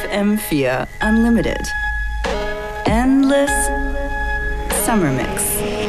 FM4 Unlimited. Endless Summer Mix.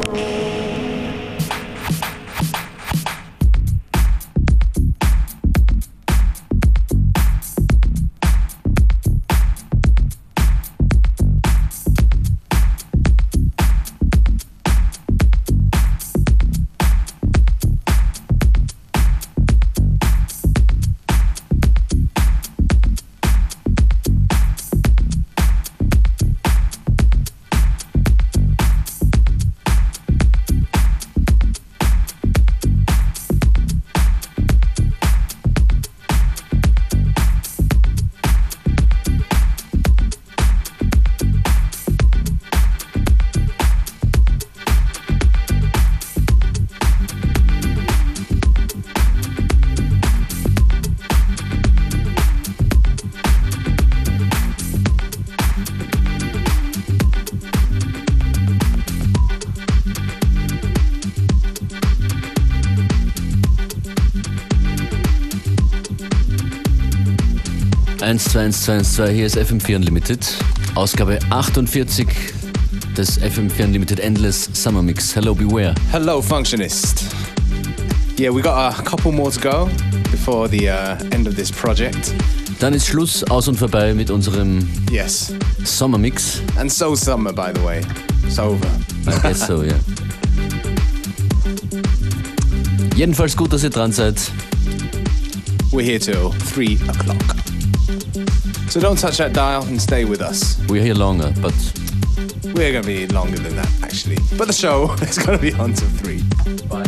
Hier ist FM4 Unlimited, Ausgabe 48 des FM4 Unlimited Endless Summer Mix. Hello, beware. Hello, Functionist. Yeah, we got a couple more to go before the end of this project. Dann ist Schluss, aus und vorbei mit unserem Summer Mix. And so summer, by the way. It's over. I guess so, yeah. Jedenfalls gut, dass ihr dran seid. We're here till 3 o'clock. So don't touch that dial and stay with us. We're here longer, but... We're going to be longer than that, actually. But the show is going to be on till 3. Bye.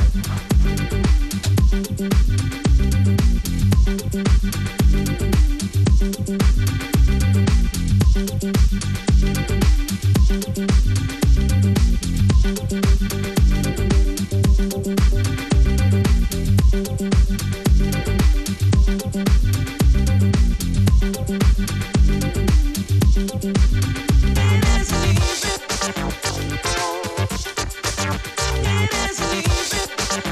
Resolution.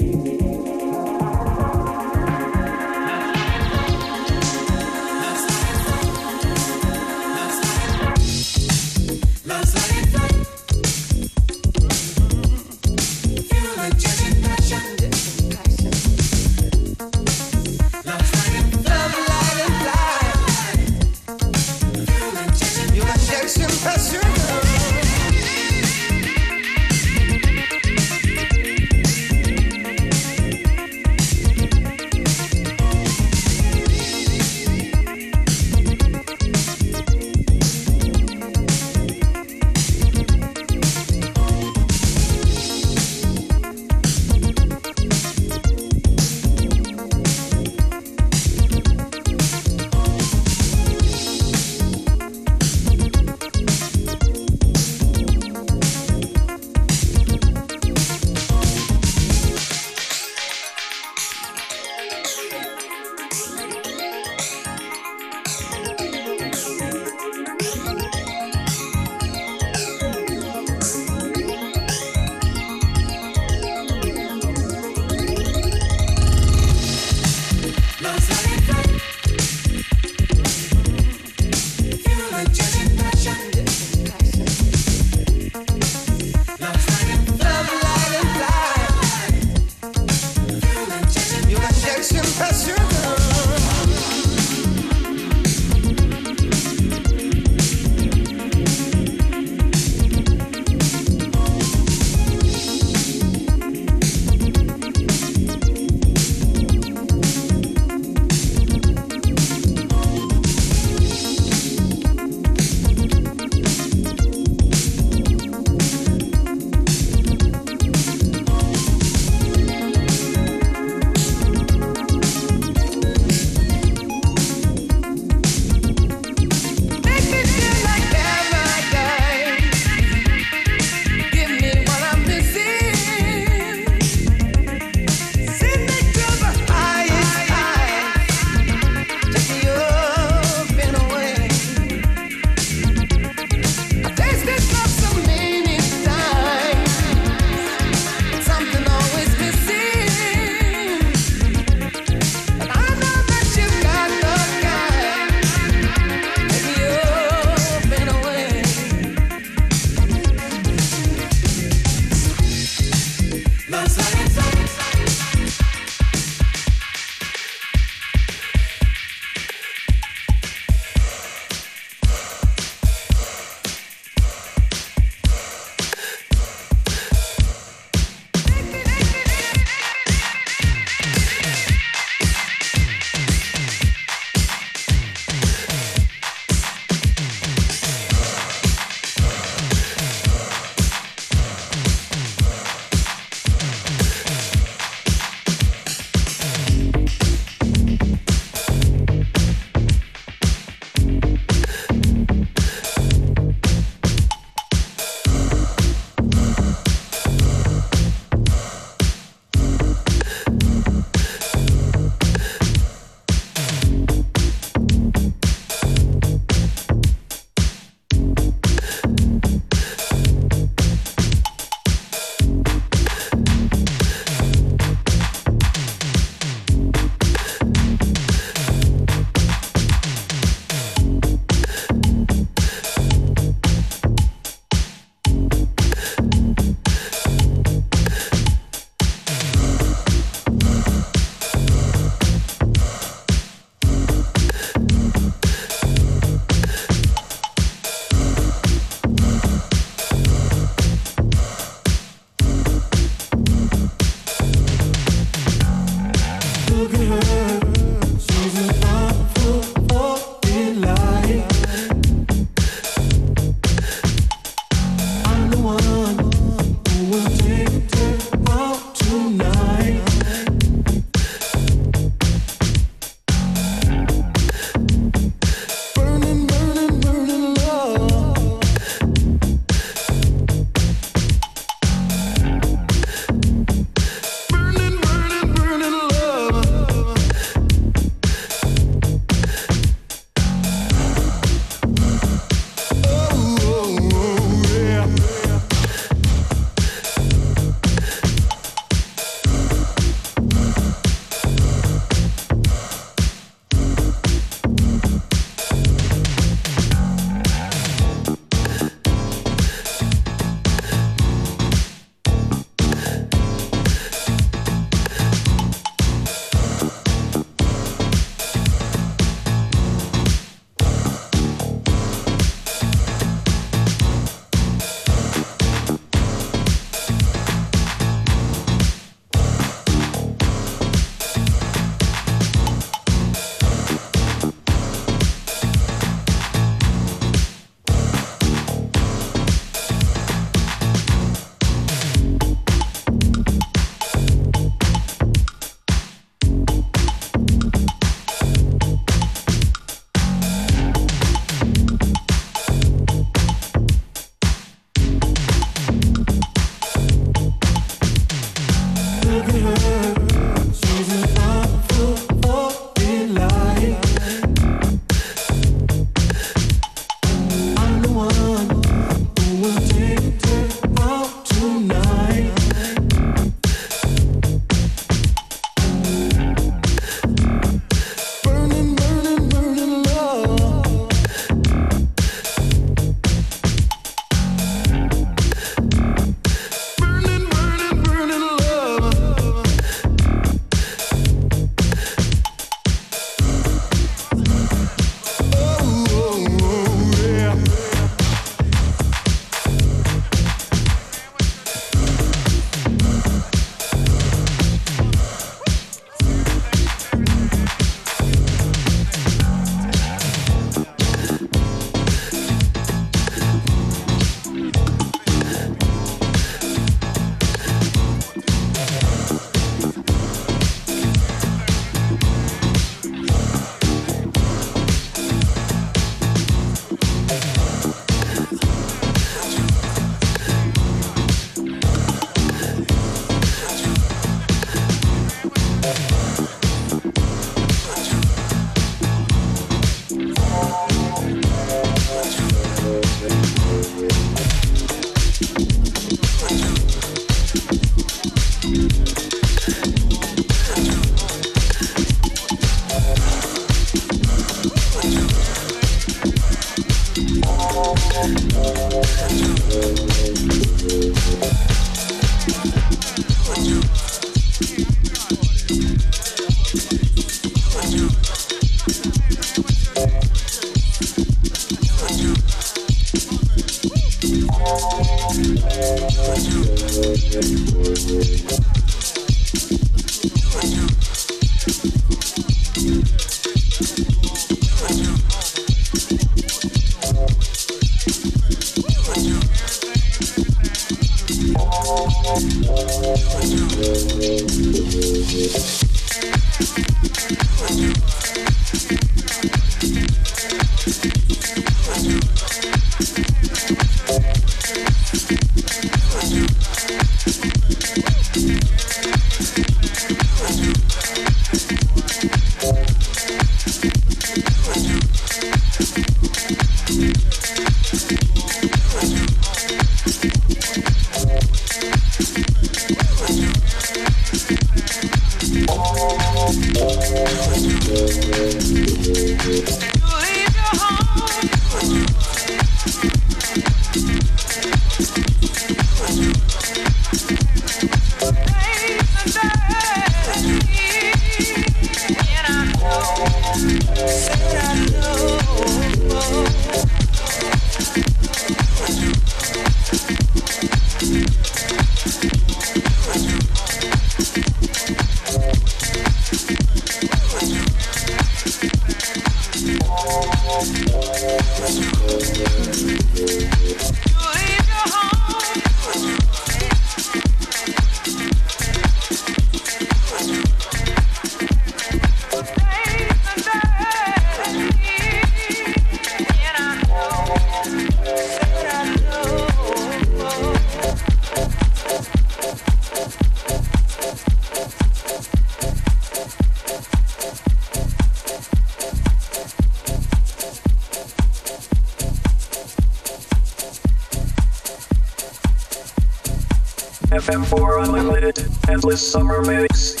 FM4 Unlimited, Endless Summer Mix,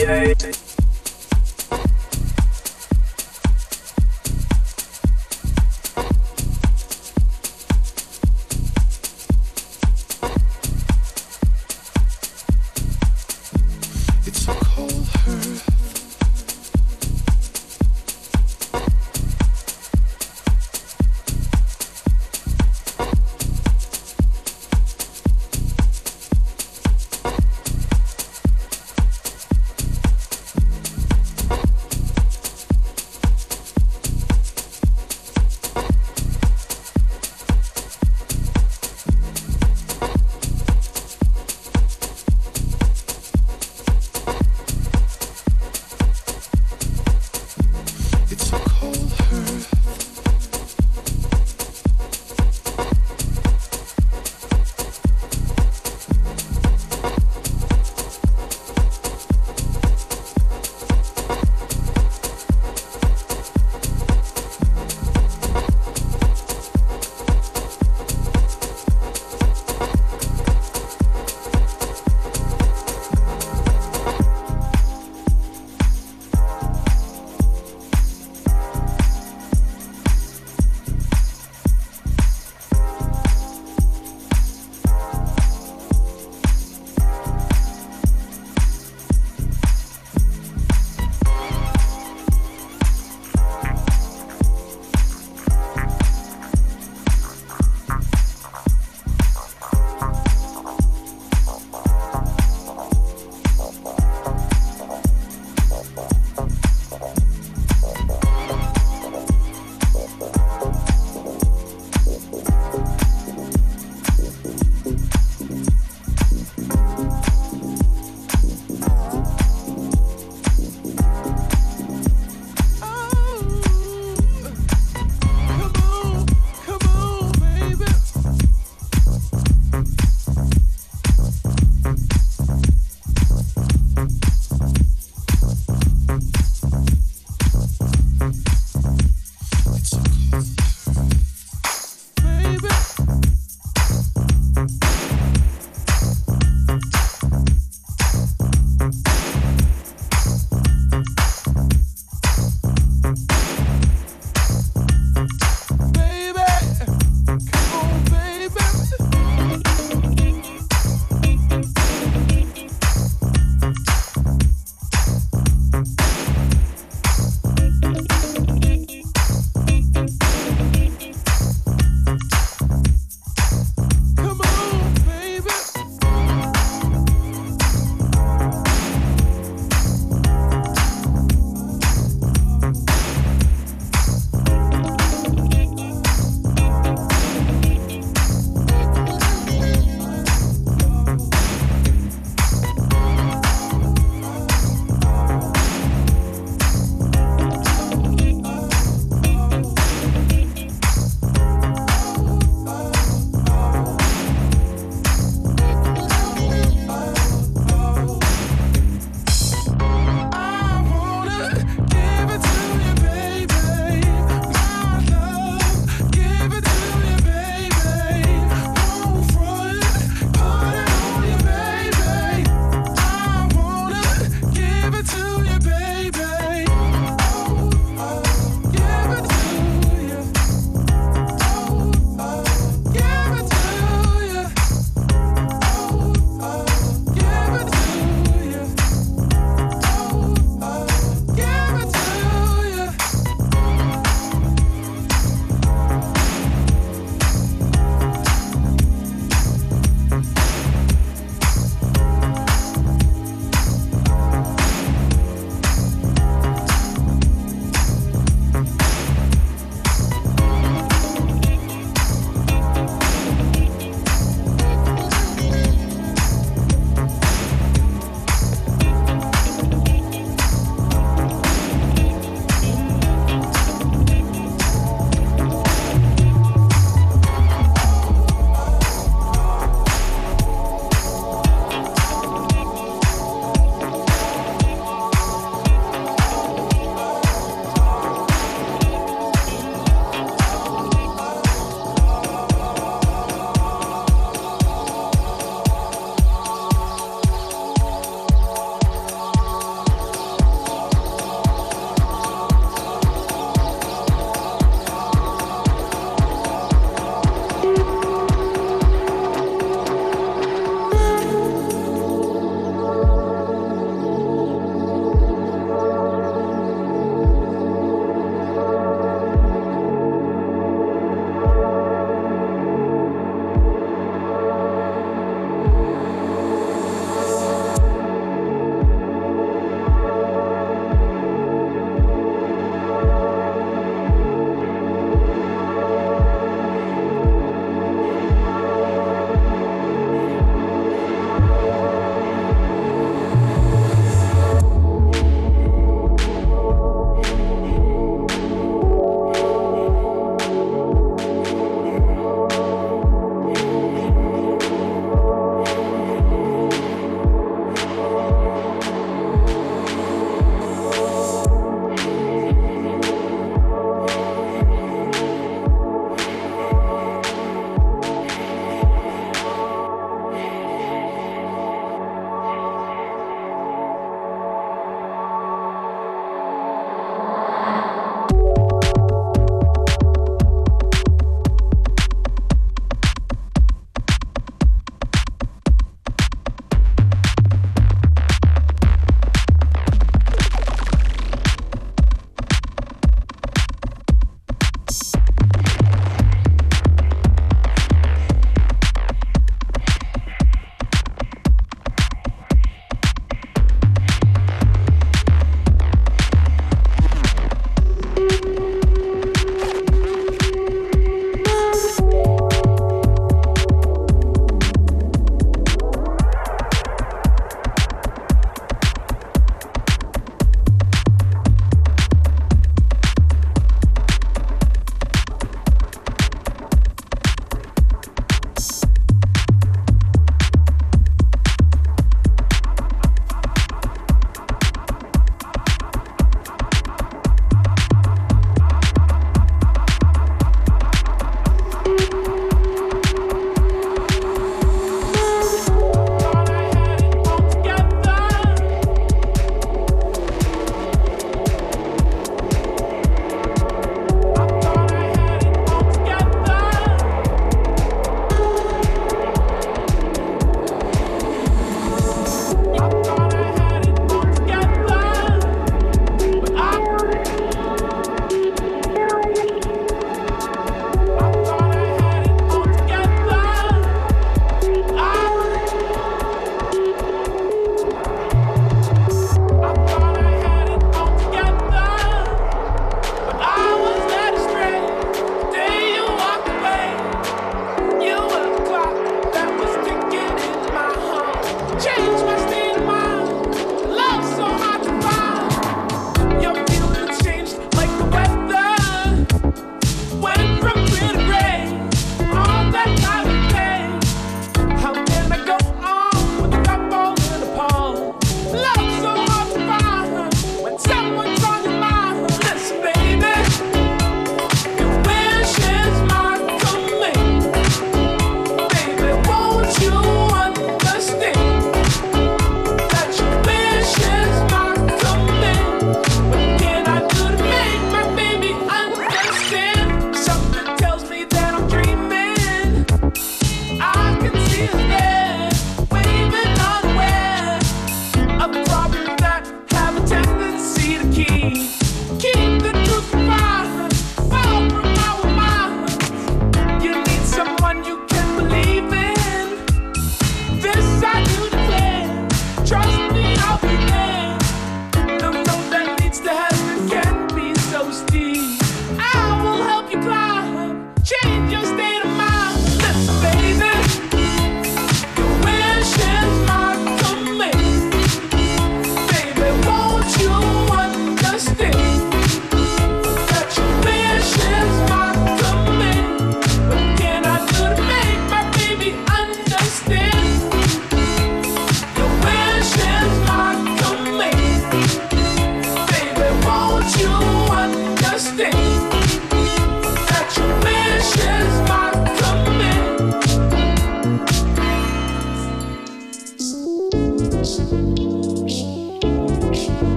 48.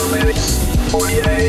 Summer Mix 48.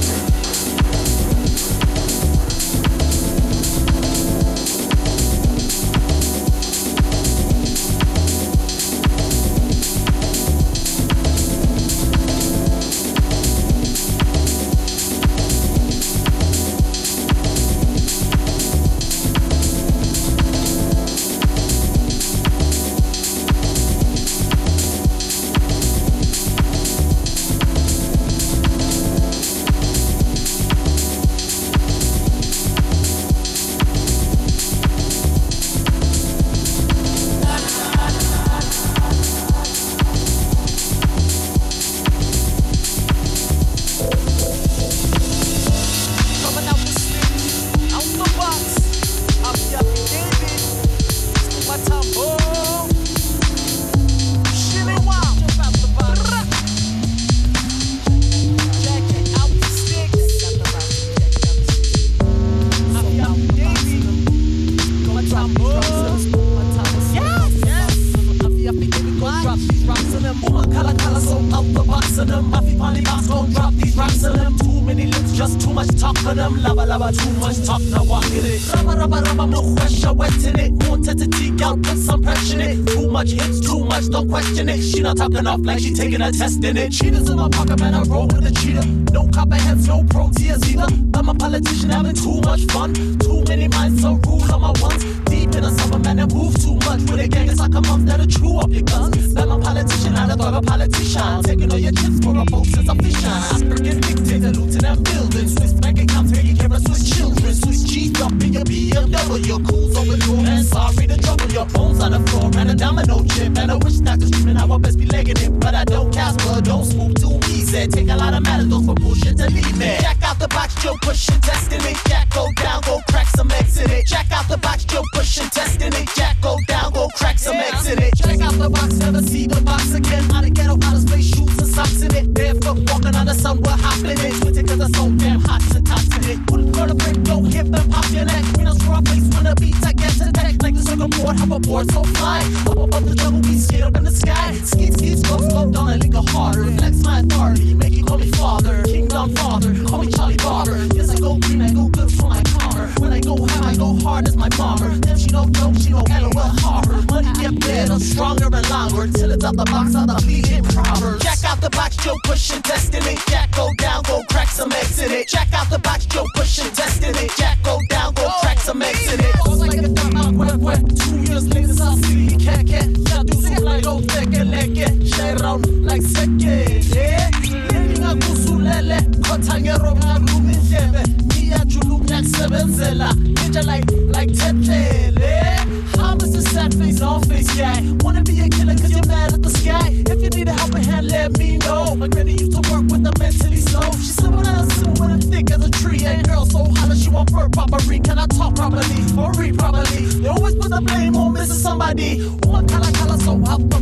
Talking off like she taking a test in it. Cheetahs in my pocket, man, I roll with a cheetah. No copperheads, no proteas either. I'm a politician having too much fun. Too many minds, so rule on my ones. Deep in the summer, man, I move too much. With a gang, it's like a month that'll chew up your guns. I'm a politician, I thought a politician. Taking all your chips for a vote since I'm fishing. African dictator, lieutenant building. Swiss bank accounts, taking care of Swiss children. Swiss G up in your BMW. Your cool's over the man, sorry to trouble. Your bones on the floor, and a domino chip. And I wish that was screaming, I would best be legging it. But I don't cast blood, don't swoop too easy. Take a lot of matadors for bullshit to leave me. Jack out the box, Joe pushing, testing it. Jack go down, go crack some eggs in it. Jack out the box, Joe pushing, testing it. Jack go down, go crack some eggs in it. Jack out the box, never see the box again. Out of ghetto, out of space, shoes and socks in it. Barefoot walking on the sun, we're hopping it. Switching cause it's so damn hot to tops in it. Put a girl to break, don't hip and pop your neck. We don't screw our place when the beats I get to deck. Like the circle board, hop aboard so fly. Up above the jungle, we skate up in the sky. Skeet, skeet, slow down and linger harder. Flex my authority, make you call me father. Kingdom father, call me Charlie Barber. Yes, I go green, I go good for my calmer. When I go ham, I go hard as my bomber. Then she don't joke, she don't LOL harbor. Money get better, stronger and longer. Till it's out the box, out the bleeding proverbs. Jack out the box, Joe pushing, testing it. Jack go down, go crack some eggs in it. Jack out the box, Joe pushing, testing it. Jack go down, go crack some eggs in it. Goes like a dumb out, wet. 2 years later, South City, can't. Jag do så like old teke leke. Share round like seke. Yeah. Leninga kusulele. Kotangero ngarumin jebe. Mia juluk nyak sebenzela. Ninja like tetlele. Hamas a sad face, all face guy. Wanna be a killer cause you're mad at the sky. If you need a helping hand, let me know. My granny used to work with the mentally slow. She's someone else when I'm thick as a tree. And girl so hot that she want bird properly. Can I talk properly or read properly? They always put the blame on missing somebody. One color so up.